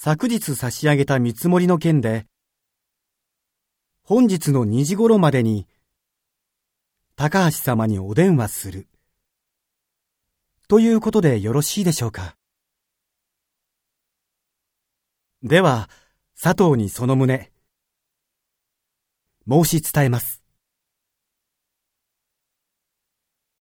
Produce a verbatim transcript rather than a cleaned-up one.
昨日差し上げた見積もりの件で、本日のにじ頃までに、高橋様にお電話する。ということでよろしいでしょうか。では、佐藤にその旨、申し伝えます。